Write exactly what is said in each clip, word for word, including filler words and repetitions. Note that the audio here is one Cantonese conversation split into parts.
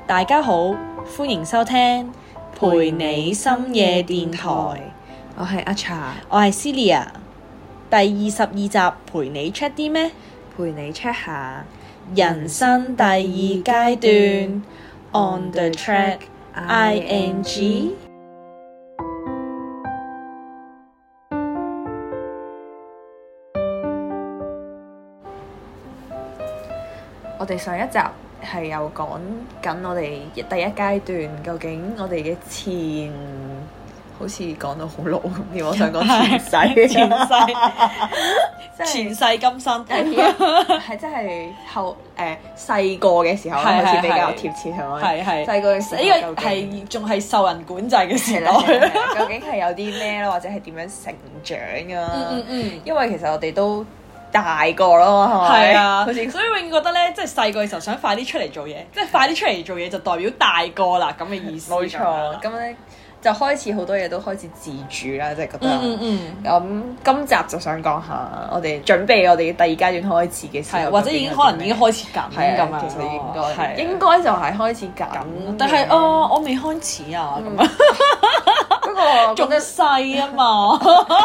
大家好，歡迎收聽陪你深夜電台， 我係阿茶， 我係 Celia。第二十二集陪你 check 啲咩？ 陪你 check 下人生第二階段 On the track I N G。 我哋上一集係有講緊我哋第一階段，究竟我哋嘅前好似講到好老咁添，我想講前世， 前世， 即係前世今生， 係真係後誒細個嘅時候係好似比較係貼切係咪？ 係係細個嘅時候呢個係仲係受人管制嘅時代。 係啦究竟係有啲咩咧，或者係點樣成長啊？ 嗯嗯嗯。 因為其實我哋都大個咯，係咪？ 係啊， 好似所以永遠覺得咧，即係細個嘅時候想快啲出嚟做嘢，即係快啲出嚟做嘢就代表大個啦咁嘅意思。 冇錯，咁咧就開始好多嘢都開始自主啦，即係覺得。 嗯嗯嗯。 咁今集就想講下我哋準備我哋第二階段開始嘅時候， 係或者已經可能已經開始緊係咁樣。 其實應該係應該就係開始緊， 但係哦，我未開始啊咁樣。 不過仲細啊嘛，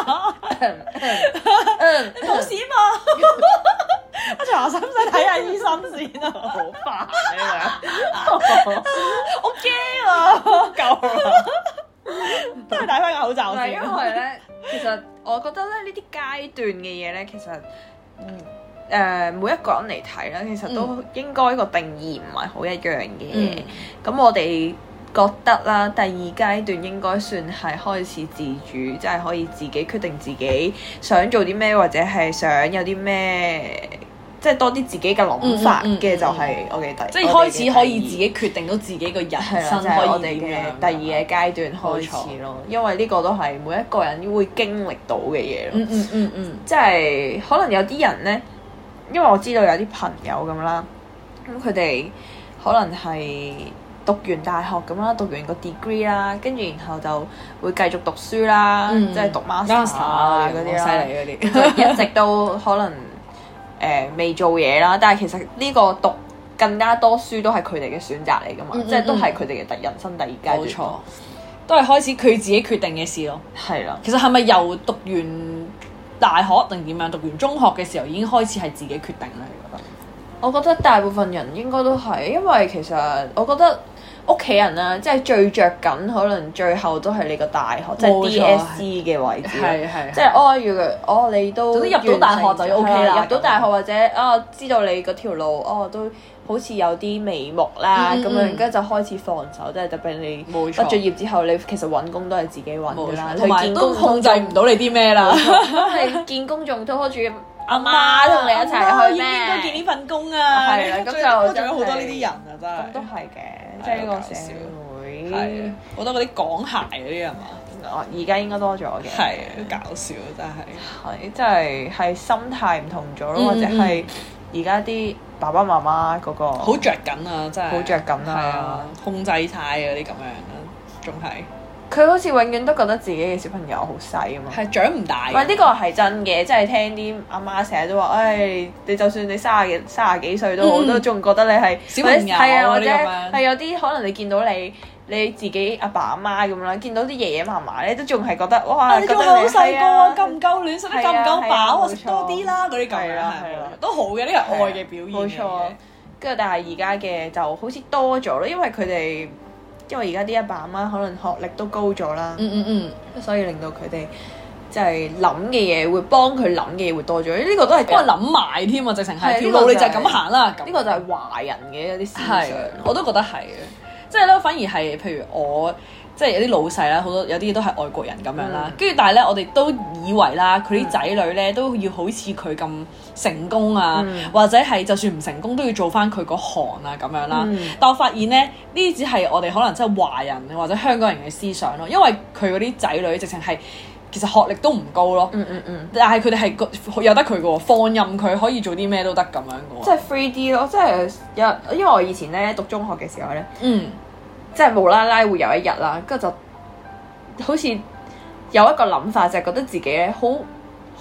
嗯， 冇事啊嘛。阿茶使唔使睇下醫生先啊？ 好煩呢我驚啊！夠啦，都係戴翻個口罩樣。 先。 因為咧，其實我覺得咧呢啲階段嘅嘢咧，其實嗯誒、呃、每一個人嚟睇咧，其實都應該個定義唔係好一樣嘅。咁、嗯、我哋覺得啦，第二階段應該算係開始自主，即係可以自己決定自己想做啲咩，或者係想有啲咩，即係多啲自己嘅諗法嘅，就係我哋第即係開始可以自己決定到自己個人生就係我哋可以點樣。 嘅第二嘅階段開始咯，因為呢個都係每一個人會經歷到嘅嘢咯。 嗯嗯嗯嗯， 即係可能有啲人呢，因為我知道有啲朋友咁啦，咁佢哋可能係讀完大學咁啦，讀完個 degree 啦，跟住然後就會繼續讀書啦， 嗯、 即係讀 master 啊嗰啲啦， 犀利嗰啲， 就一直都可能誒未、呃、做嘢啦。但係其實呢個讀更加多書都係佢哋嘅選擇嚟噶嘛，嗯嗯嗯，即係都係佢哋嘅第人生第二階段。 冇錯，都係開始佢自己決定嘅事咯。 係啦， 其實係咪由讀完大學定點樣？讀完中學嘅時候已經開始係自己決定咧？你覺得？ 我覺得大部分人應該都係，因為其實我覺得屋企人啦，即係最着緊，可能最後都係你個大學，即係 D S E 嘅位置。 係係， 即係哦，如果哦你都總之入到大學就 O K 啦。 入到大學或者啊、哦，知道你嗰條路哦都好似有啲眉目啦，咁、嗯嗯、樣跟住就開始放手，即係特別你畢咗業之後，你其實揾工都係自己揾㗎啦， 同埋都控制唔到你啲咩啦。 你見工仲拖住阿媽同你一齊去咩？ 應該見呢份工啊！ 係啦，咁就仲有好多呢啲人啊，真係。 咁都係嘅，即係呢個社會。 係好多嗰啲港鞋嗰啲係嘛？ 哦，而家應該多咗嘅。 係，搞笑真係。 係，即係係心態唔同咗咯，或者係而家啲爸爸媽媽嗰個好着緊啊！真係好着緊啊！ 控制晒嗰啲咁樣啦，仲係。 佢好似永遠都覺得自己嘅小朋友好細啊嘛， 係長唔大。 唔係呢個係真嘅，即係聽啲阿媽成日都話，唉，你就算你三十幾三十幾歲都好，都仲覺得你係小朋友， 係啊，或者係有啲可能你見到你你自己阿爸阿媽咁啦，見到啲爺爺嫲嫲咧，都仲係覺得哇， 你仲係好細個啊，夠唔夠暖，食得夠唔夠飽啊，食多啲啦，嗰啲咁樣係都好嘅，呢個係愛嘅表現。 冇錯，跟住但係而家嘅就好似多咗咯，因為佢哋。因為而家啲阿爸阿媽可能學歷都高咗啦， 嗯嗯嗯， 所以令到佢哋即係諗嘅嘢會幫佢諗嘅嘢會多咗，呢、這個都係幫佢諗埋添啊！直情係條路你就係咁行啦，呢個就係華人嘅一啲思想， 我都覺得係嘅，即係咧反而係譬如我。即係有啲老細啦，好多有啲都係外國人咁樣啦，跟住、嗯、但係咧，我哋都以為啦，佢啲仔女咧都要好似佢咁成功啊，嗯、或者係就算唔成功都要做翻佢嗰行啊咁樣啦。嗯、但我發現咧，呢啲只係我哋可能真係華人或者香港人嘅思想咯，因為佢嗰啲仔女直情係其實學歷都唔高咯，嗯嗯嗯，但係佢哋係有得佢嘅喎，放任佢可以做啲咩都得咁樣嘅喎。 即係 free 啲咯，即係有，因為我以前咧讀中學嘅時候咧， 嗯。 即係無啦啦會有一日啦，跟住就好似有一個諗法，就係覺得自己咧好好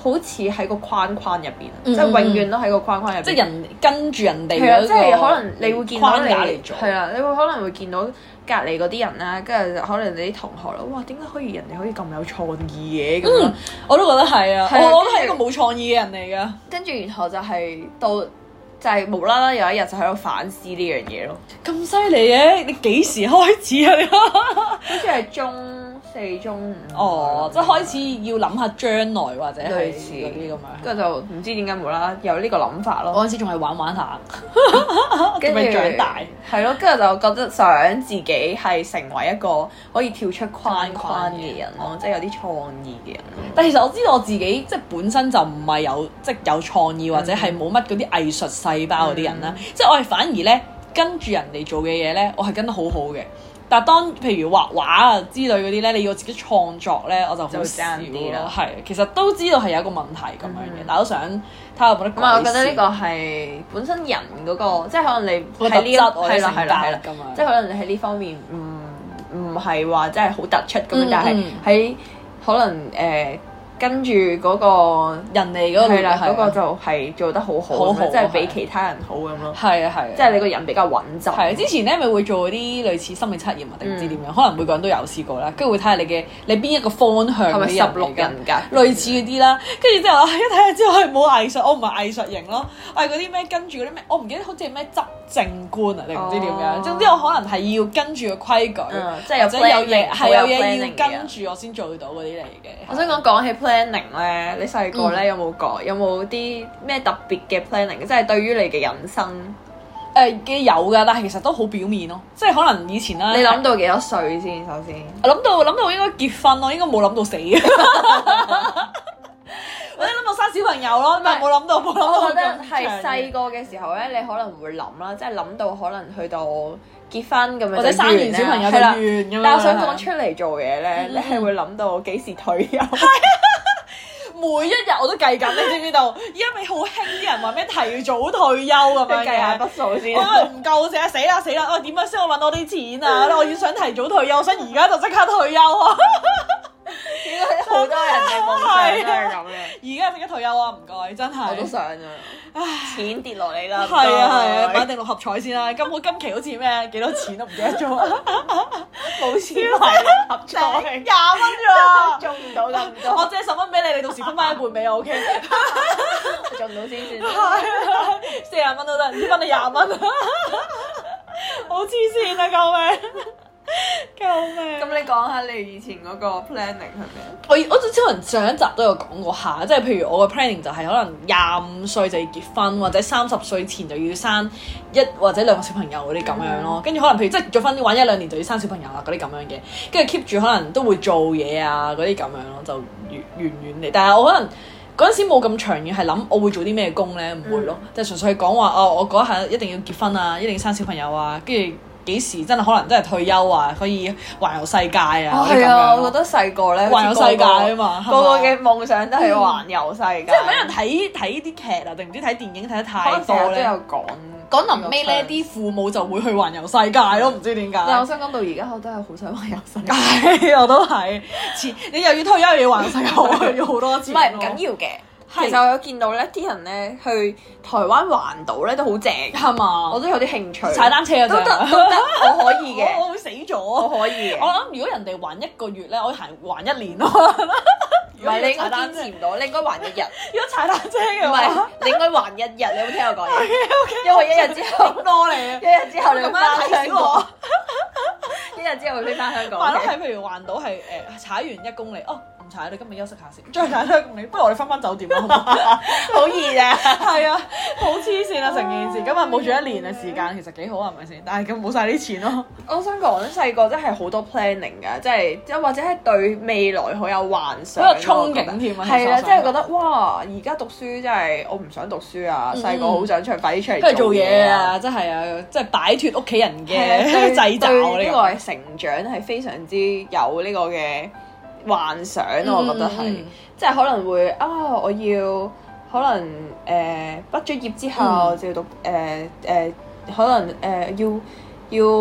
好似喺個框框入邊， 嗯、 即係永遠都喺個框框入邊。 即係人跟住人哋係啊， 嗰即係可能你會見到框你架嚟做。 係啦，你會可能會見到隔離嗰啲人啦，跟住可能你啲同學啦，哇點解可以人哋可以咁有創意嘅咁樣？ 嗯，我都覺得係啊， 係啊我我都係一個冇創意嘅人嚟㗎。 跟住然後就係到就係無啦啦有一日就喺度反思呢樣嘢咯。 咁犀利嘅，你幾時開始啊？你好似係中四中五哦，即係開始要諗下將來或者係類似嗰啲咁樣。 跟住就唔知點解無啦啦有呢個諗法咯。 嗰陣時仲係玩玩下， 跟住仲未長大。 係咯，跟住就覺得想自己係成為一個可以跳出框框嘅人咯，即係有啲創意嘅人咯。 但其實我知道我自己即係本身就唔係有即係有創意或者係冇乜嗰啲藝術細胞嗰啲人啦， 嗯、 即係我係反而咧跟住人哋做嘅嘢咧，我係跟得好好嘅。但係當譬如畫畫啊之類嗰啲咧，你要自己創作咧，我就好少啲啦。係，其實都知道係有一個問題咁樣嘅，嗯、但係都想睇下有冇得改善。 我覺得呢個係本身人嗰、嗰個，即係可能你個特質或者性格係啦， 咁樣。 即係可能你喺呢方面唔唔係話真係好突出咁樣， 嗯、 但係喺可能誒。呃跟住嗰個人哋嗰個係啦，嗰個就係做得好好，即係比其他人好咁咯。 係啊係， 即係你個人比較穩陣。 係之前咧咪會做啲類似心理測驗啊，定唔知點樣？可能每個人都有試過啦，跟住會睇下你嘅你邊一個方向嘅人嚟㗎。係咪十六人格？類似嗰啲啦，跟住之後一睇下之後係冇藝術，我唔係藝術型咯，我係嗰啲咩跟住嗰啲咩，我唔記得好似係咩執政官啊定唔知點樣。總之我可能係要跟住個規矩， 即係有有嘢係有嘢要跟跟住我先做到嗰啲嚟嘅。 我想講講起 planning 咧，你細個咧有冇講有冇啲咩特別嘅 planning？即係對於你嘅人生誒嘅有㗎，但係其實都好表面咯，即係可能以前啦。 你諗到幾多歲先？首先， 我諗到諗到應該結婚咯，應該冇諗到死嘅。或者諗到生小朋友咯，但係冇諗到冇諗到。 我覺得係細個嘅時候咧，你可能會諗啦，即係諗到可能去到結婚咁樣， 或者生完小朋友就完咁樣。 但係我想講出嚟做嘢咧，你係會諗到幾時退休？ 每一日我都計緊，你知唔知道？而家咪好興啲人話咩提早退休咁樣嘅， 計下筆數先。 我話唔夠死死啦死啦！我點樣先可以揾到啲錢啊？我要想提早退休，我想而家就即刻退休啊！ 應該好多人嘅夢想都係咁嘅。 而家即刻退休啊！唔該，真係。 我都想啊！唉，錢跌落嚟啦。 係啊係啊，買定六合彩先啦。今我今期好似咩幾多錢都唔記得咗。 冇錢買六合彩， 廿蚊咋？ 中唔到咁多。 我借十蚊俾你，你到時分翻一半俾我 OK。 中到先算。 四廿蚊都得，唔知分你廿蚊。好黐線啊！救命！救命！ 咁你講下你以前嗰個 planning 係咩？ 我我可能上一集都有講過下，即係譬如我個 planning 就係可能廿五歲就要結婚，或者三十歲前就要生一或者兩個小朋友嗰啲咁樣咯。跟住、嗯、可能譬如即係結咗婚玩一兩年就要生小朋友啦嗰啲咁樣嘅，跟住 keep 住可能都會做嘢啊嗰啲咁樣咯，就遠遠遠嚟。但係我可能嗰陣時冇咁長遠係諗我會做啲咩工咧，唔會咯，嗯、就純粹係講話哦，我嗰一下一定要結婚啊，一定要生小朋友啊，跟住。幾時真係可能真係退休啊？可以環遊世界啊！ 係啊，我覺得細個咧環遊世界啊嘛， 個個嘅夢想都係環遊世界。 即係俾人睇睇啲劇啊，定唔知睇電影睇得太多咧。 都有講講臨尾咧，啲父母就會去環遊世界咯，唔知點解。 但係我想講到而家，我都係好想環遊世界。 我都係，你又要退休又要環遊世界，要好多錢。 唔係唔緊要嘅。其實我有見到咧，啲人咧去台灣環島咧都好正， 係嘛？ 我都有啲興趣。 踩單車啊， 都得都得，我可以嘅。 我會死咗， 我可以嘅。 我諗如果人哋環一個月咧，我行環一年咯。 唔係，你應該堅持唔到，你應該環一日。 如果踩單車嘅話， 唔係，你應該環一日。你有冇聽我講嘢？因為一日之後多嚟啊！ 一日之後你咁翻樣睇香港，一日之後會飛翻香港。 係咯，係譬如環島係誒踩完一公里，哦唔踩，你今日休息下先，再踩多一公里，不如我哋翻返酒店啦，好唔好？ 好易啊！ 係啊，好黐線啊成件事，今日冇住一年嘅時間，其實幾好啊，係咪先？但係咁冇晒啲錢咯。 我想講細個真係好多 planning 㗎，即係即或者係對未來好有幻想， 好有憧憬添啊！ 係啊，即係覺得哇！而家讀書真係我唔想讀書啊，細個好想出快啲出嚟做嘢啊！真係啊，即係擺脫屋企人嘅掣肘。 呢個係成長係非常之有呢個嘅幻想，我覺得係，即係可能會啊，我要可能誒畢咗業之後就要讀誒誒，可能誒要要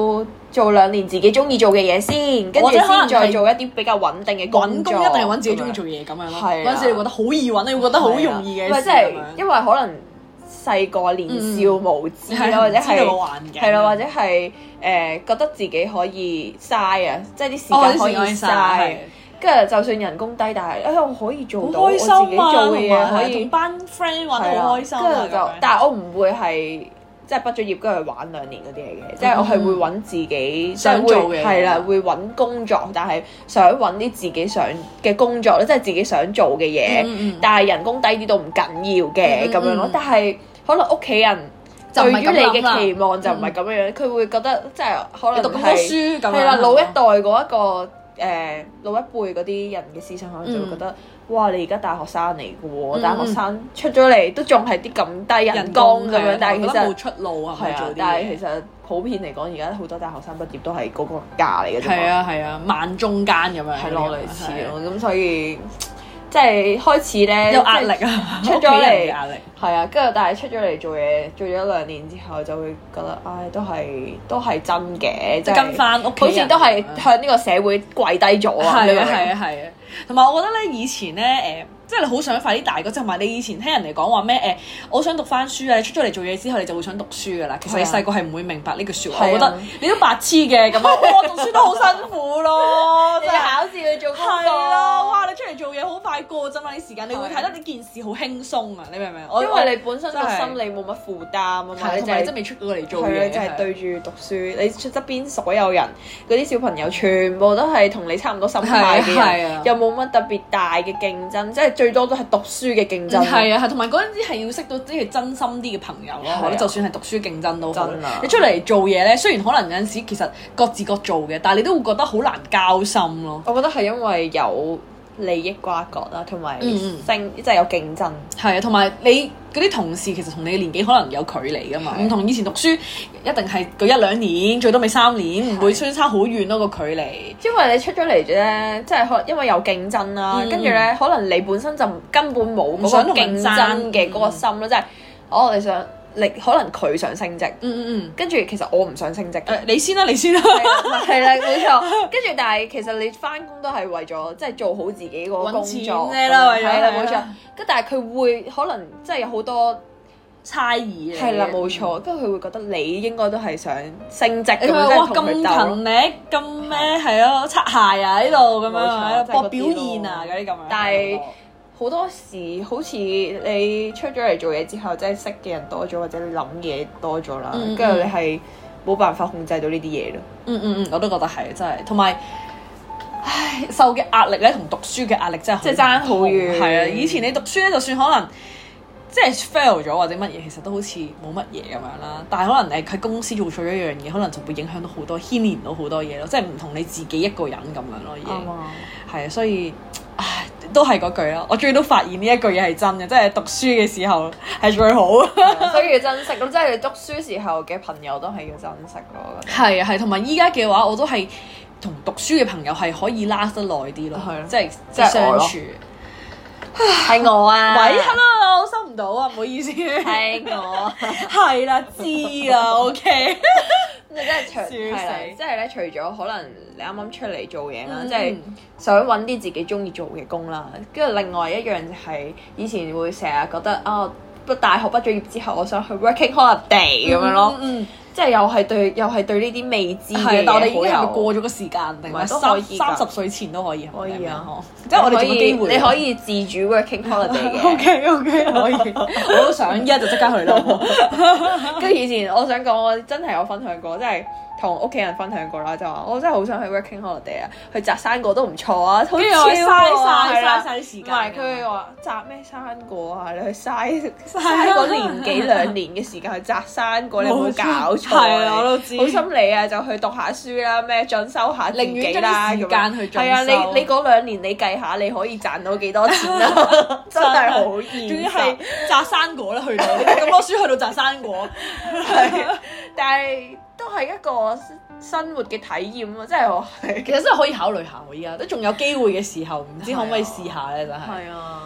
做兩年自己中意做嘅嘢先，跟住先再做一啲比較穩定嘅工作。 揾工一定係揾自己中意做嘢咁樣咯。 係嗰陣時你覺得好易揾，你會覺得好容易嘅事。 唔係即係因為可能細個年少無知啦，或者係係啦，或者係誒覺得自己可以嘥啊，即係啲時間可以嘥。跟住就算人工低，但係誒我可以做到我自己做嘅嘢，可以同班 friend 玩得好開心。 跟住就，但係我唔會係即係畢咗業跟住玩兩年嗰啲嚟嘅，即係我係會揾自己想做嘅， 係啦，會揾工作，但係想揾啲自己想嘅工作咧，即係自己想做嘅嘢，但係人工低啲都唔緊要嘅咁樣咯。但係可能屋企人對於你嘅期望就唔係咁樣樣，佢會覺得即係可能讀咁多書咁樣係啦，老一代嗰一個。誒、呃、老一輩嗰啲人嘅思想可能就會覺得，嗯、哇！你而家大學生嚟嘅喎，嗯、大學生出咗嚟都仲係啲咁低人工咁樣，但係其實冇出路啊， 係啊，但係其實普遍嚟講，而家好多大學生畢業都係嗰個價嚟嘅啫嘛。 係啊係啊，萬中間咁樣。係咯，類似咯，咁所以。即係開始咧， 有壓力啊！出咗嚟， 壓力係啊，跟住但係出咗嚟做嘢，做咗兩年之後就會覺得，唉，都係都係真嘅， 即係跟翻屋企人， 好似都係向呢個社會跪低咗啊！ 係啊係啊係啊，同埋我覺得咧，以前咧誒。即係你好想快啲大個，即係同埋你以前聽人哋講話咩誒，我想讀翻書啊！你出咗嚟做嘢之後，你就會想讀書噶啦。其實你細個係唔會明白呢句説話，我覺得你都白痴嘅咁樣。哇！讀書都好辛苦咯， 即係考試去做功課。 係咯，哇！你出嚟做嘢好快過啫嘛，啲時間你會睇得呢件事好輕鬆啊！你明唔明？ 因為你本身個心理冇乜負擔啊嘛， 你就係真未出過嚟做嘢， 就係對住讀書。你出側邊所有人嗰啲小朋友全部都係同你差唔多心態嘅人，又冇乜特別大嘅競爭，即係最多都係讀書嘅競爭。 係啊，係同埋嗰陣時係要識到啲係真心啲嘅朋友咯。就算係讀書競爭都好，你出嚟做嘢咧，雖然可能有陣時其實各自各做嘅，但係你都會覺得好難交心咯。 我覺得係因為有利益瓜葛啦，同埋升即係有競爭。 係啊，同埋你嗰啲同事其實同你嘅年紀可能有距離噶嘛，唔同以前讀書一定係嗰一兩年，最多咪三年，唔會相差好遠咯個距離。 因為你出咗嚟咧，即係可因為有競爭啦，跟住咧可能你本身就根本冇嗰個競爭嘅嗰個心咯，即係哦你想。你可能佢想升職，嗯嗯嗯，跟住其實我唔想升職嘅， 你先啦，你先啦， 係啦，冇錯。跟住但係其實你翻工都係為咗即係做好自己個工作啫啦，為咗係啦，冇錯。跟但係佢會可能即係有好多猜疑， 係啦，冇錯。跟住佢會覺得你應該都係想升職咁樣， 哇咁勤力咁咩係咯，擦鞋啊喺度咁樣，搏表現啊嗰啲咁樣， 但係。好多時好似你出咗嚟做嘢之後，即係識嘅人多咗，或者你諗嘢多咗啦，跟住、嗯嗯、你係冇辦法控制到呢啲嘢咯。嗯嗯嗯， 我都覺得係真係，同埋，唉，受嘅壓力咧，同讀書嘅壓力真係即係爭好遠。 係啊，以前你讀書咧，就算可能即係 fail 咗或者乜嘢，其實都好似冇乜嘢咁樣啦。但係可能誒喺公司做錯一樣嘢，可能就會影響到好多，牽連到好多嘢咯。即係唔同你自己一個人咁樣咯，已經係啊，所以唉。都係嗰句咯，我終於都發現呢一句嘢係真嘅，即係讀書嘅時候係最好， 所以要珍惜咯。即係你讀書時候嘅朋友都係要珍惜咯。 係啊，係，同埋依家嘅話，我都係同讀書嘅朋友係可以 last 得耐啲咯，係即係即係相處。 係我啊！ 喂 ，hello，我收唔到啊，唔好意思。 係我， 係啦，知啦，OK。 咁你真係除係啦，即係咧，除咗可能你啱啱出嚟做嘢啦，即係想揾啲自己中意做嘅工啦，跟住另外一樣就係以前會成日覺得啊，不大學畢咗業之後，我想去 working holiday 咁樣咯。即係又係對，又係對呢啲未知嘅嘢， 但我哋已經係過咗個時間，定係三三十歲前都可以， 可以啊！ 即係我哋仲有機會， 你可以自主 working holiday 嘅。 OK OK 可以，我都想一就即刻去咯。 跟住以前我想講，我真係有分享過，即係同屋企人分享過啦，就話我真係好想去 working holiday 啊，去摘生果都唔錯啊，好似嘥晒嘥晒啲時間。唔係佢話摘咩生果啊？你去嘥嘥嗰年幾兩年嘅時間去摘生果，你有冇搞錯？ 係啊，我都知。 好心你啊，就去讀下書啦，咩進修下自己啦， 咁間去進修。 係啊，你你嗰兩年你計下，你可以賺到幾多錢啊？真係好現實。仲要係摘生果啦，去到咁多書去到摘生果， 係，但係。都係一個生活嘅體驗咯，即係我其實真係可以考慮下喎，依家都仲有機會嘅時候，唔知可唔可以試下咧？真係。 係啊，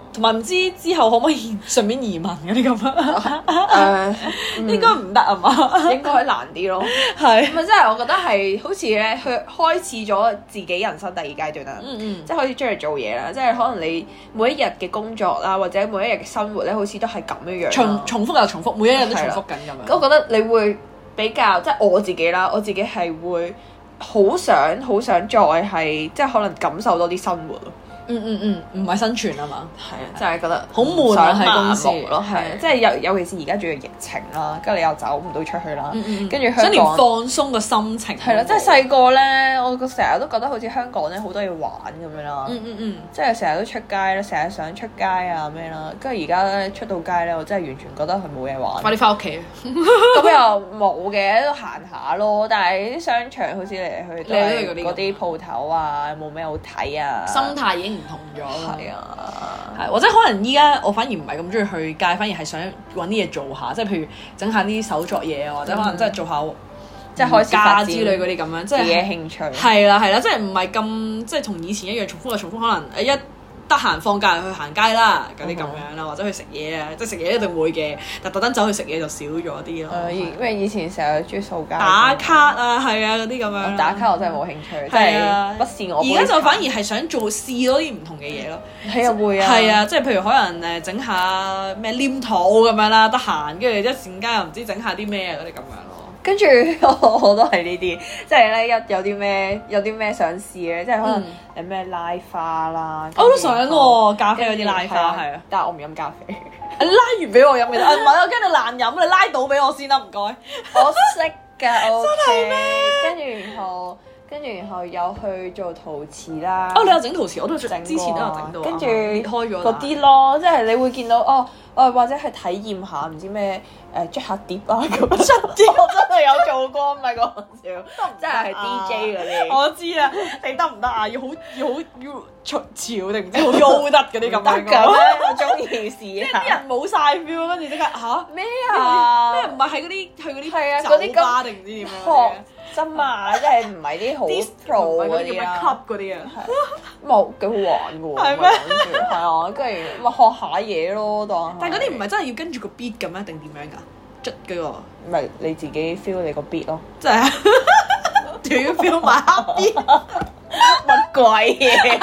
同埋唔知之後可唔可以順便移民嗰啲咁啊？ 誒， 應該唔得啊嘛， 應該難啲咯。 係咪即係我覺得係好似咧，佢開始咗自己人生第二階段啦。 嗯嗯， 即係開始出嚟做嘢啦，即係可能你每一日嘅工作啦，或者每一日嘅生活咧，好似都係咁樣樣。 重重複又重複，每一日都重複緊咁樣。 我覺得你會比較，即係我自己啦，我自己係會好想好想再係即係可能感受多啲生活咯。 嗯嗯嗯，唔係生存啊嘛， 係啊，就係覺得好悶啊喺公司咯，係啊，即係尤尤其是而家仲要疫情啦，跟住你又走唔到出去啦，跟住香港想連放鬆個心情係啦，即係細個咧，我個成日都覺得好似香港咧好多嘢玩咁樣啦， 嗯嗯嗯， 即係成日都出街啦，成日想出街啊咩啦，跟住而家咧出到街咧，我真係完全覺得佢冇嘢玩。 快啲翻屋企， 咁又冇嘅，都行下咯。但係啲商場好似嚟嚟去去都係嗰啲鋪頭啊，冇咩好睇啊， 心態已經唔同咗啦。 係啊， 係或者可能依家我反而唔係咁中意去街，反而係想揾啲嘢做下，即係譬如整下啲手作嘢啊，或者可能真係做下即係開始發展之類嗰啲咁樣，即係自己興趣。 係啦係啦，即係唔係咁即係同以前一樣重複就重複，可能誒一得閒放假去行街啦，嗰啲咁樣啦，或者去食嘢啊，即係食嘢一定會嘅，但特登走去食嘢就少咗啲咯。 誒，因為以前成日中意掃街打卡啊，係啊嗰啲咁樣。 打卡我真係冇興趣，即係不是我。 而家就反而係想做試多啲唔同嘅嘢咯。 係啊會啊。 係啊，即係譬如可能誒整下咩黏土咁樣啦，得閒跟住一陣間又唔知整下啲咩嗰啲咁樣咯。 跟住我我都係呢啲，即係咧一有啲咩有啲咩想試咧，即係可能有咩拉花啦。 我都想喎，咖啡嗰啲拉花係啊， 但係我唔飲咖啡。 你拉完俾我飲嘅，啊唔係我驚你爛飲，你拉到俾我先啦，唔該。 我識㗎，我真係咩？ 跟住然後跟住然後有去做陶瓷啦。 哦，你有整陶瓷，我都整，之前都有整到。 跟住開咗嗰啲咯，即係你會見到哦。誒或者係體驗下唔知咩誒捽下碟啊咁，捽碟我真係有做過，唔係講笑，真係係 D J 嗰啲。 我知啊，你得唔得啊？要好要好要潮潮定唔知好優得嗰啲咁樣㗎咩？我中意試下。 啲人冇晒 feel，跟住即刻嚇咩啊？ 咩唔係喺嗰啲去嗰係啊啲酒吧定唔知點樣嘅？ 真嘛，即係唔係啲好 pro 嗰啲啊 club 嗰啲啊， 冇幾好玩嘅喎。係咩？係啊，跟住咪學下嘢咯，當。 但係嗰啲唔係真係要跟住個 beat 咁樣定點樣㗎？捽嗰個咪你自己 feel 你個 beat 咯。 真係仲要 feel 埋黑 beat， 乜鬼嘢？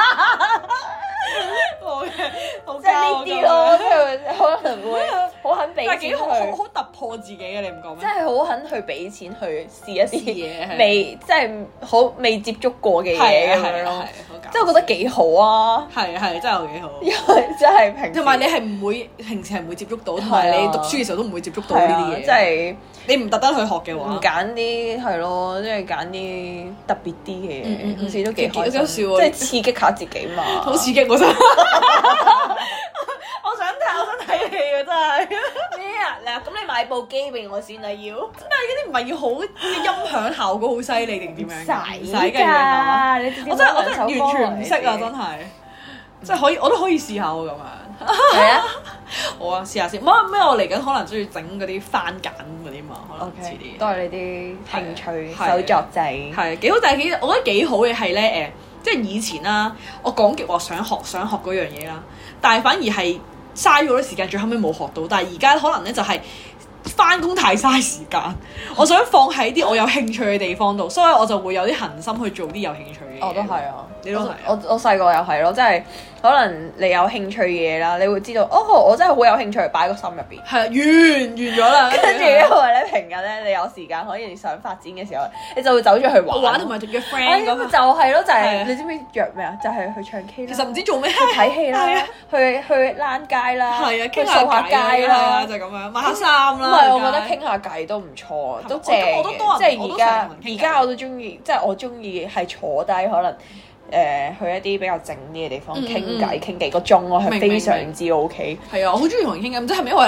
即係呢啲咯，即係可能會好肯俾錢去， 好好突破自己嘅，你唔講咩？ 即係好肯去俾錢去試一啲嘢， 未即係好未接觸過嘅嘢咁樣咯。即係我覺得幾好啊！ 係係真係有幾好， 因為真係平時同埋你係唔會平時係唔會接觸到，同埋你讀書嘅時候都唔會接觸到呢啲嘢。 即係你唔特登去學嘅話， 唔揀啲係咯，即係揀啲特別啲嘅嘢，好似都幾開心， 即係刺激下自己嘛。 好刺激我真係，我想睇我想睇戲啊！真係咩啊？嗱，咁你買部機俾我先啦，要。 但係嗰啲唔係要好音響效果好犀利定點樣？ 唔使㗎，我真係我真係完全唔識啊！真係，即係可以我都可以試下喎咁樣。 係啊， 好啊，試下先。乜咩？我嚟緊可能中意整嗰啲番梘嗰啲嘛，可能遲啲。 都係你啲興趣手作仔。 係幾好，但係幾我覺得幾好嘅係咧誒，即係以前啦，我講極話想學想學嗰樣嘢啦，但係反而係嘥咗好多時間，最後尾冇學到。但係而家可能咧就係翻工太嘥時間，我想放喺啲我有興趣嘅地方度，所以我就會有啲恆心去做啲有興趣嘅嘢。 我都係啊， 你都係。 我我細個又係咯，即係可能你有興趣嘅嘢啦，你會知道哦，我真係好有興趣，擺喺個心入邊。 係啊，完完咗啦。 跟住因為咧平日咧，你有時間可以想發展嘅時候，你就會走咗去玩。 玩同埋約 friend 咁。 就係咯，就係你知唔知約咩啊？就係去唱 K 啦。 其實唔知做咩， 去睇戲啦，去去躝街啦， 係啊， 傾下偈啦， 就咁樣買下衫啦。 唔係，我覺得傾下偈都唔錯，都正嘅。即係而家而家我都中意，即係我中意係坐低可能。誒去一啲比較靜啲嘅地方傾偈，傾幾個鐘，我係非常之 OK。 係啊，我好中意同人傾偈，唔知係咪因為咧讀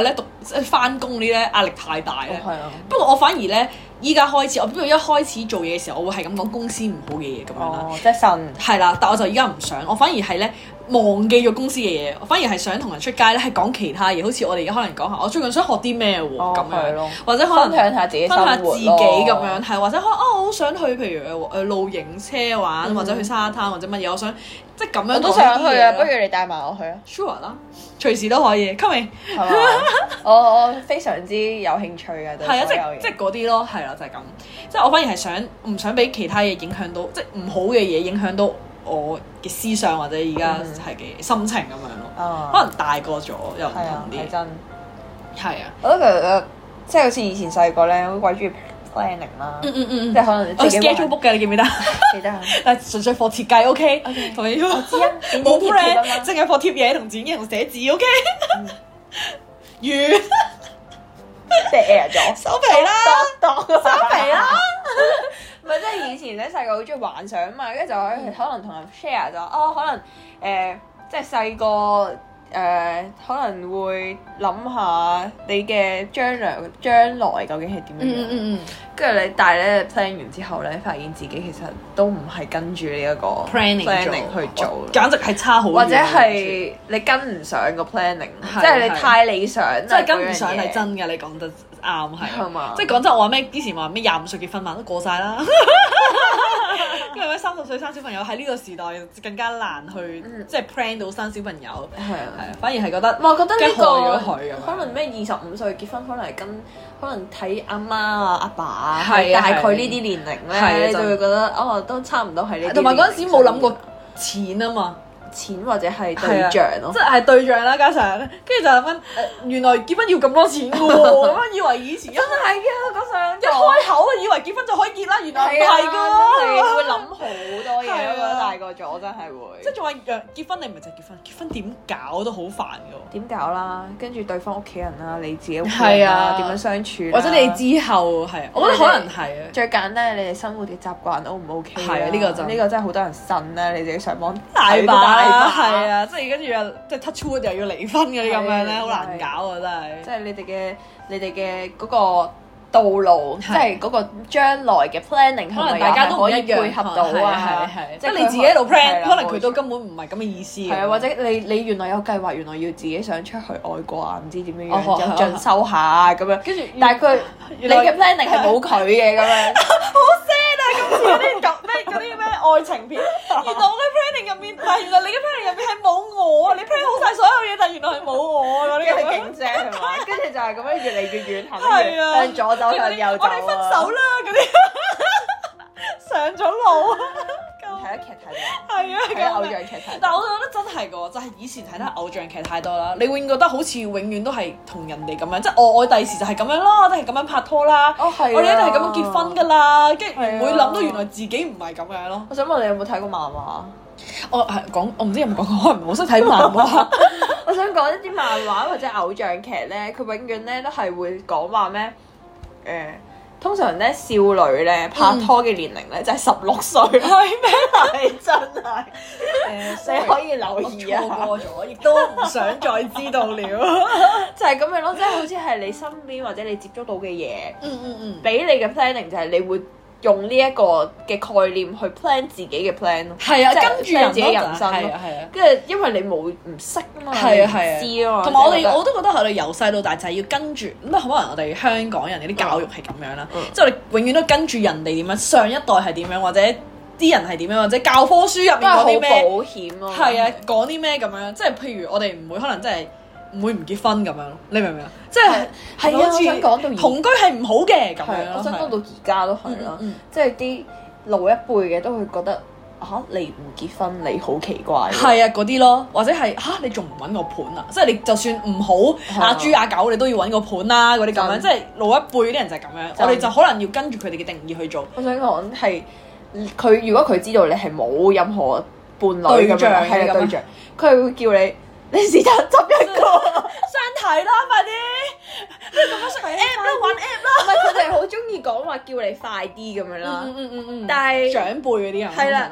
翻工嗰啲咧壓力太大咧。 係啊。 不過我反而咧依家開始，我不過一開始做嘢嘅時候，我會係咁講公司唔好嘅嘢咁樣啦。 哦，即係呻。 係啦，但我就依家唔想，我反而係咧忘記咗公司嘅嘢，我反而係想同人出街咧係講其他嘢，好似我哋而家可能講下我最近想學啲咩喎咁樣，或者可能分享下自己分享下自己咁樣， 咯係或者可能啊我好想去譬如誒誒露營車玩， 嗯或者去沙灘或者乜嘢，我想即係咁樣我都講想去啊， 啲嘢咯不如你帶埋我去啊。 sure 啦，隨時都可以，coming 係嘛？我我非常之有興趣嘅對係啊，即所有嘢係即係嗰啲咯，係啦，就係咁，即係我反而係想唔想俾其他嘢影響到，即係唔好嘅嘢影響到我嘅思想或者而家係嘅心情咁樣咯。 啊可能大個咗又唔係啊， 同啲， 係真。 係啊， 我覺得其實即係好似以前細個咧，好鬼中意 planning 啦， 嗯嗯嗯即係可能我自己 schedule book 嘅，你記唔記得？ 記得啊。 但係純粹課設計 OK， OK 同你我知啊，剪冇剪貼貼啊 friend， 嘛。 淨係課貼嘢同剪嘢同寫字 OK，完即係 air 咗， 收皮啦， 當收皮啦。 唔係，即係以前咧細個好中意幻想嘛，跟住就可以可能同人 share 就哦，可能誒、呃，即係細個誒，可能會諗下你嘅將來將來究竟係點樣樣。 嗯嗯嗯跟住你，但係咧 plan 完之後咧，發現自己其實都唔係跟住呢一個 planning planning 去做， 簡直係差好遠， 或者係你跟唔上個 planning， 係即係你太理想啦， 即係跟唔上嗰樣嘢係真嘅，你講得啱係係嘛即係講真，我話咩？之前話咩廿五歲結婚嘛，都過晒啦。因為咩三十歲生小朋友喺呢個時代更加難去， 嗯即係 plan 到生小朋友。 係啊。 係啊，反而係覺得， 我覺得呢、 驚害咗佢個咁樣可能咩二十五歲結婚，可能係跟可能睇阿媽啊、阿爸啊， 係啊大概呢啲年齡係啊咧，你就真會覺得哦，都差唔多係呢啲。 同埋嗰陣時冇諗過錢啊嘛。 錢或者係對象咯即。係對象啦，加上跟住就諗緊誒，原來結婚要咁多錢嘅喎，咁樣以為以前一真係嘅，嗰上一開口以為結婚就可以結啦，原來唔係係啊，真係㗎。 會諗好多嘢係啊咯。覺得大個咗真係會。 即係仲話若結婚，你唔係就係結婚，結婚點搞都好煩㗎點搞啦？跟住對方屋企人啦，你自己屋企係啊人啦，點樣相處啦？ 喎，或者你之後係，我覺得可能係啊。 最簡單係你哋生活嘅習慣 O 唔 OK 係啊呢個就呢個真係好多人呻啦，你自己上網大睇都把啦， 把係啊，即係跟住又即係 touch wood 又要離婚嗰啲咁樣咧， 係好難搞啊！真係。 即係你哋嘅你哋嘅嗰個道路，即係係嗰個將來嘅 planning， 可能大家都唔可以一樣配合到係啊， 係係，即即係係你自己喺度 plan，可能佢都冇錯根本唔係咁嘅意思嘅。 係啊，或者你你原來有計劃，原來要自己想出去外國啊，唔知點樣哦樣有係進修下啊咁樣， 跟住但係佢你原來嘅 planning 係冇佢嘅咁樣。 好 sad 啊！今次嗰啲咁咩嗰啲咩愛情片，原來我嘅 planning 入面，唔係原來你嘅 planning 入面係冇我啊！你 plan 好晒所有嘢，但係原來係冇我啊！嗰啲跟住咁樣勁正係嘛？跟住就係咁樣越嚟越遠行， 係啊向左走向右走我哋分手啦！嗰啲上咗路啊！ 睇得劇睇到， 係啊， 睇得偶像劇睇到。 但係我覺得真係㗎，就係、以前睇得偶像劇太多啦，你永遠覺得好似永遠都係同人哋咁樣，即係我我第時就係咁樣啦，我哋係咁樣拍拖啦， 哦係啊我哋一定係咁樣結婚㗎啦，跟住唔會係啊諗到原來自己唔係咁樣咯。 我想問你有冇睇過漫畫？ 我係講，我唔知有冇講過，我唔係好識睇漫畫。 我想講一啲漫畫或者偶像劇咧，佢永遠咧都係會講話咩？誒、通常咧少女咧拍拖嘅年齡咧就係十六歲，係咩？係真係誒，你可以留意啊， 錯過咗，亦都唔想再知道了。 就係咁樣咯，即係好似係你身邊或者你接觸到嘅嘢， 嗯嗯嗯， 俾你嘅 planning 就係你會用呢一個嘅概念去 plan 自己嘅 plan 咯， 係啊， 即係跟住 plan 人自己人生咯係啊係啊。 跟住因為你冇唔識啊嘛， 係啊係啊， 你唔知啊嘛， 同埋我哋即係覺得我都覺得我哋由細到大就係要跟住，咁可能我哋香港人嗰啲教育係咁樣啦， 嗯即係我哋永遠都跟住人哋點樣，上一代係點樣，或者啲人係點樣，或者教科書入面都係好講啲咩， 保險咯， 係啊，講啲咩咁樣，即係譬如我哋唔會可能真係唔會唔結婚咁樣咯，你明唔明啊？即係係啊，我想講到而同居係唔好嘅咁樣咯， 係我想講到係而家都係啦嗯嗯嗯， 即係啲老一輩嘅都會覺得嚇你唔結婚你好奇怪喎， 係啊嗰啲咯，或者係吓你仲唔揾個伴啊？即係你就算唔好阿豬阿狗，你都要揾個伴啦嗰啲咁樣， 真即係老一輩嗰啲人就係咁樣， 真我哋就可能要跟住佢哋嘅定義去做。 我想講係佢如果佢知道你係冇任何伴侶咁對象樣，係咁樣啊對象，佢係會叫你你是但執一個。 相睇啦，快啲！你咁樣上 app 啦，玩 app 啦。 唔係佢哋好中意講話叫你快啲咁樣啦， 嗯嗯嗯嗯， 但係長輩嗰啲人係啦通常都係。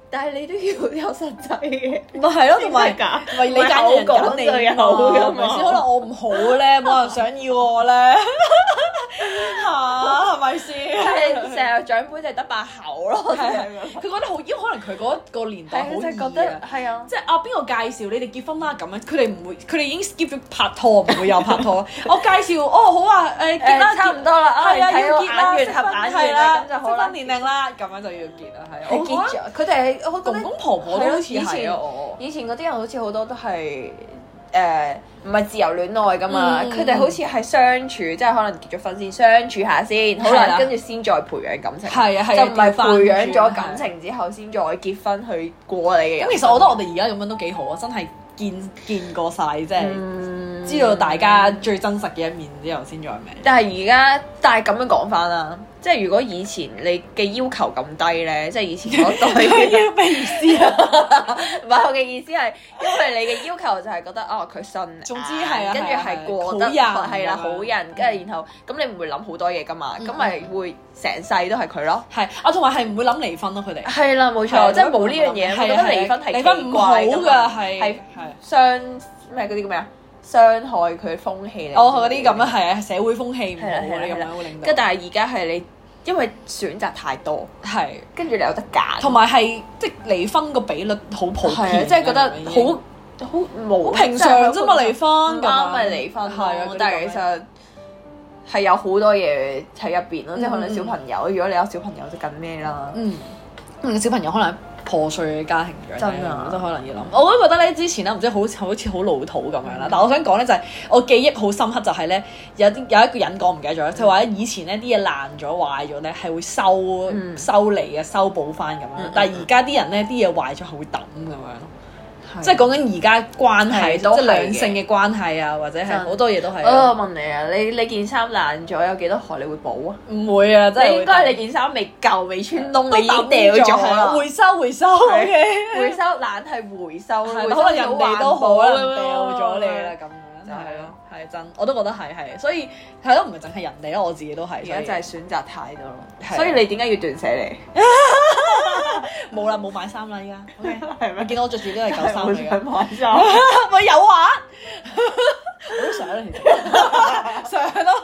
但係你都要有實際嘅， 咪係咯，同埋先係㗎唔係你揀人揀你就有嘛㗎係咪先？ 嘛可能我唔好咧，冇人想要我咧，嚇係咪先？ 係成日長輩就係得把口咯， 係係佢覺得好，因為可能佢嗰個年代好係就覺易得啊。 係啊。 即係啊，邊個介紹你哋結婚啦咁樣？佢哋唔會，佢哋已經 skip 咗拍拖，唔會有拍拖。我介紹，哦好啊，誒結啦， 誒差唔多啦， 係啊， 睇到要結啦， 眼緣適婚合眼緣係啦， 啦，咁就好啦適婚。年齡啦，咁樣就要結啦，係啊。 係結咗，佢哋係我覺得公公婆婆都好似以前係啊，我以前嗰啲人好似好多都係誒唔係自由戀愛噶嘛， 嗯佢哋好似係相處，即係可能結咗婚先相處下先，好啦， 係啦跟住先再培養感情， 係啊係啊就唔係調返培養咗轉感情之後先再結婚去過你嘅人生。 咁其實我覺得我哋而家咁樣都幾好啊，真係見見過晒，即係嗯知道大家最真實嘅一面之後先再咩。 但係而家，但係咁樣講翻啦，即係如果以前你嘅要求咁低咧，即係以前嗰代嘅咩意思啊？ 唔係我嘅意思係，因為你嘅要求就係覺得哦佢信眼， 總之係啊跟住係啊係過得好人係啦咁樣好人，跟住然後咁你唔會諗好多嘢噶嘛，咁咪會成世都係佢咯。 係啊，同埋係唔會諗離婚咯，佢哋係啦，冇係啊錯，即係冇呢樣嘢，我係啊覺得離婚係離婚唔好㗎， 奇怪㗎嘛係係係。 傷咩嗰啲叫咩啊？傷害佢風氣嚟。 哦，嗰啲咁啊，係啊，社會風氣唔好係啦係啦嗰啲咁係啦樣會令到。 跟住但係而家係你，因為選擇太多， 係， 跟住你有得揀， 同埋係即係離婚個比率好普係啊， 遍， 即係覺得已經好好冇好平常啫嘛，離婚咁樣啱咪離婚係啊咯。但係其實係有好多嘢喺入邊咯，即係可能小朋友，如果你有小朋友就更咩啦。 嗯，嗯小朋友可能破碎嘅家庭長大真啊都可能要諗。我都覺得咧，之前咧唔知好似好似好老土咁樣啦。但係我想講咧就係、我記憶好深刻，就係咧有啲有一個人講唔記得咗，就話咧以前咧啲嘢爛咗壞咗咧係會收、 嗯修理嘅修補翻咁樣， 嗯但係而家啲人咧啲嘢壞咗係會抌咁樣。 係即係講緊而家關係，即係係都係嘅兩性嘅關係啊，或者係真好多嘢都係我啊。 問你啊，你你件衫爛咗有幾多荷你會補啊？ 唔會啊，真係你應該會你件衫未夠未穿窿， 都你已經掉咗啦。 回收回收，OK。 回收懶係回收， 係回收可能人哋都可能掉咗你啦， 咁咁樣就係係咯咯， 係真，我都覺得係係，所以係咯，唔係淨係人哋咯，我自己都係。 而家就係選擇太多咯， 係啊所以你點解要斷捨離？ 冇啦，冇買衫啦，依家。OK， 係咩你見到我着住都係舊衫嚟嘅， 想買衫， 咪有啊！我都想啦，其實想咯。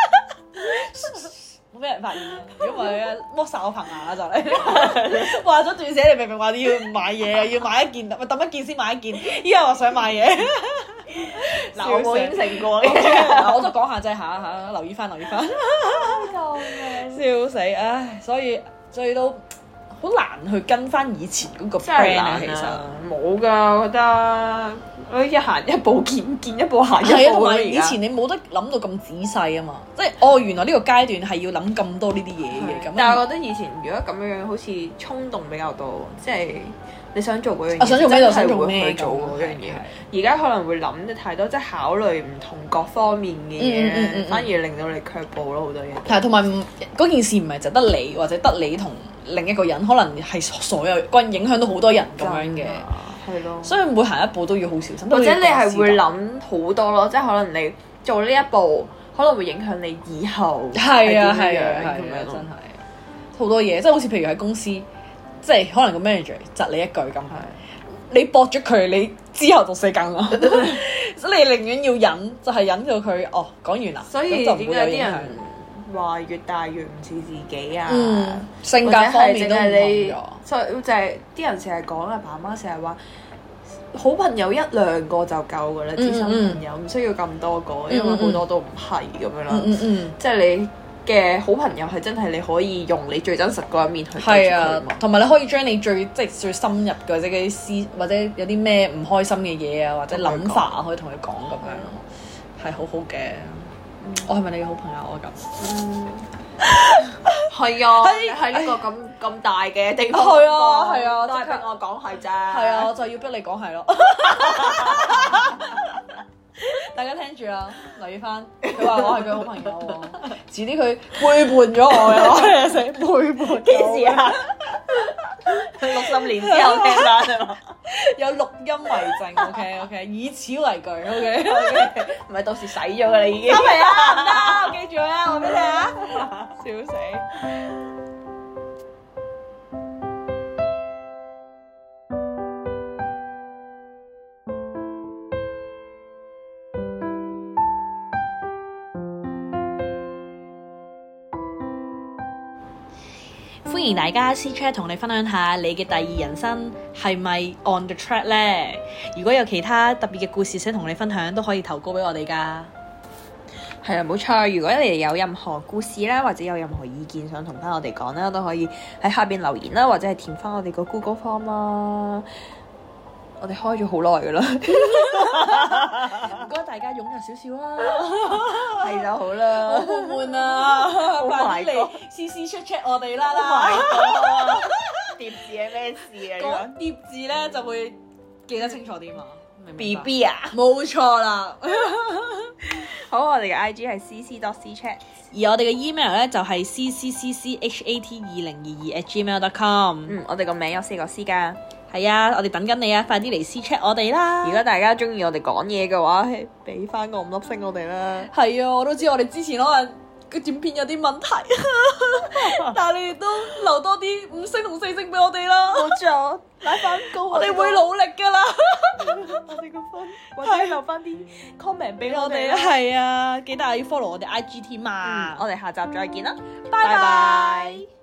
冇俾人發現啊！如果唔係咧，剝晒我棚牙啦就嚟。話咗斷捨離，明明話你要唔買嘢啊，要買一件，咪抌一件先買一件。依家話想買嘢， 嗱我冇應承過嘅。我都講下啫嚇嚇，留意翻留意翻。 救命！ 笑死！唉，所以所以都好難去跟翻以前嗰個真係 brand 啊， 難其實。 啊！冇㗎，我覺得我一行一步見見一步行一係啊，同步咯。而家埋以前你冇得諗到咁仔細啊嘛，即係哦原來呢個階段係要諗咁多呢啲嘢嘅咁。 但係我覺得以前如果咁樣樣，好似衝動比較多，即係你想做嗰樣嘢， 我想做咩就想做真係會咩去做咁嗰樣係嘢。而家可能會諗得太多，即係考慮唔同各方面嘅嘢嗯嗯嗯嗯咧，反而令到你卻步咯好多嘢。 係，同埋唔嗰件事唔係就得你，或者得你同另一個人，可能係所有關影響到好多人咁樣嘅， 係咯。 所以每行一步都要好小心。 或者你係會諗諗好多咯，即係可能你做呢一步，可能會影響你以後係啊係係點樣啊係啊咁樣咯真係好多嘢，即係好似譬如喺公司，即係可能個 manager 窒你一句咁，你駁咗佢，你之後就死梗啦。所以你寧願要忍，就係忍到佢哦講完啦， 所以咁就唔點會有影響解啲人話越大越唔似自己啊？ 嗯性格或者係方面都唔淨係你同咗， 所以就係啲人成日講阿爸媽成日話，好朋友一兩個就夠噶啦，知心嗯朋友唔需要咁多個， 嗯因為好多都唔係咁樣啦嗯。嗯嗯。 即係你嘅好朋友係真係你可以用你最真實嗰一面去對住佢係啊嘛， 同埋你可以將你最即係最深入嘅或者嗰啲思或者有啲咩唔開心嘅嘢啊，或者諗法啊，可以同佢講咁樣咯，係好好嘅。我係咪你嘅好朋友啊？咁嗯，係啊，喺呢個咁咁大嘅地方係啊講係啊都係即刻逼我講係咋， 係啊，我就要逼你講係咯。大家聽住啦，留意翻。佢話我係佢好朋友喎，遲啲佢背叛咗我嘅話，成背叛。 幾時啊？六十年之後聽翻係嘛？ 有錄音為證，OK OK，以此為據，OK OK。 唔係到時洗咗㗎啦已經。 收皮啊！唔得，我記住啊！我俾你啊！笑死。 歡迎大家私 chat 同你分享下你嘅第二人生係咪 on the track 呢？如果有其他特別嘅故事想同你分享，都可以投稿俾我哋㗎。 係啦，冇錯。如果你哋有任何故事啦，或者有任何意見想同翻我哋講啦，都可以喺下邊留言啦，或者係填翻我哋個 Google Form 啦。我哋開咗好耐噶啦， 唔該大家踴躍少少啦， 係就好啦。 好悶悶啊！快啲嚟試試 check check 我哋啦啦！ 疊字係咩事啊？ 講疊字咧就會記得清楚啲嘛。 B B 啊， 冇錯啦。 好，我哋嘅 I G 係 c c dot c chat， 而我哋嘅 email 咧就係 c c c c h a t 二零二二 at gmail dot com。 嗯，我哋個名有四個 C 㗎。 係啊，我哋等緊你啊，快啲嚟私 chat 我哋啦！ 如果大家中意我哋講嘢嘅話，俾翻個五粒星我哋啦。 係啊，我都知我哋之前可能個短片有啲問題，但係你哋都留多啲五星同四星俾我哋啦。 冇錯，拉翻高， 我哋會努力㗎啦。 我哋個分，或者留翻啲 comment 俾我哋啦。 係啊，記得要 follow 我哋 I G 添啊！ 我哋下集再見啦， 拜拜。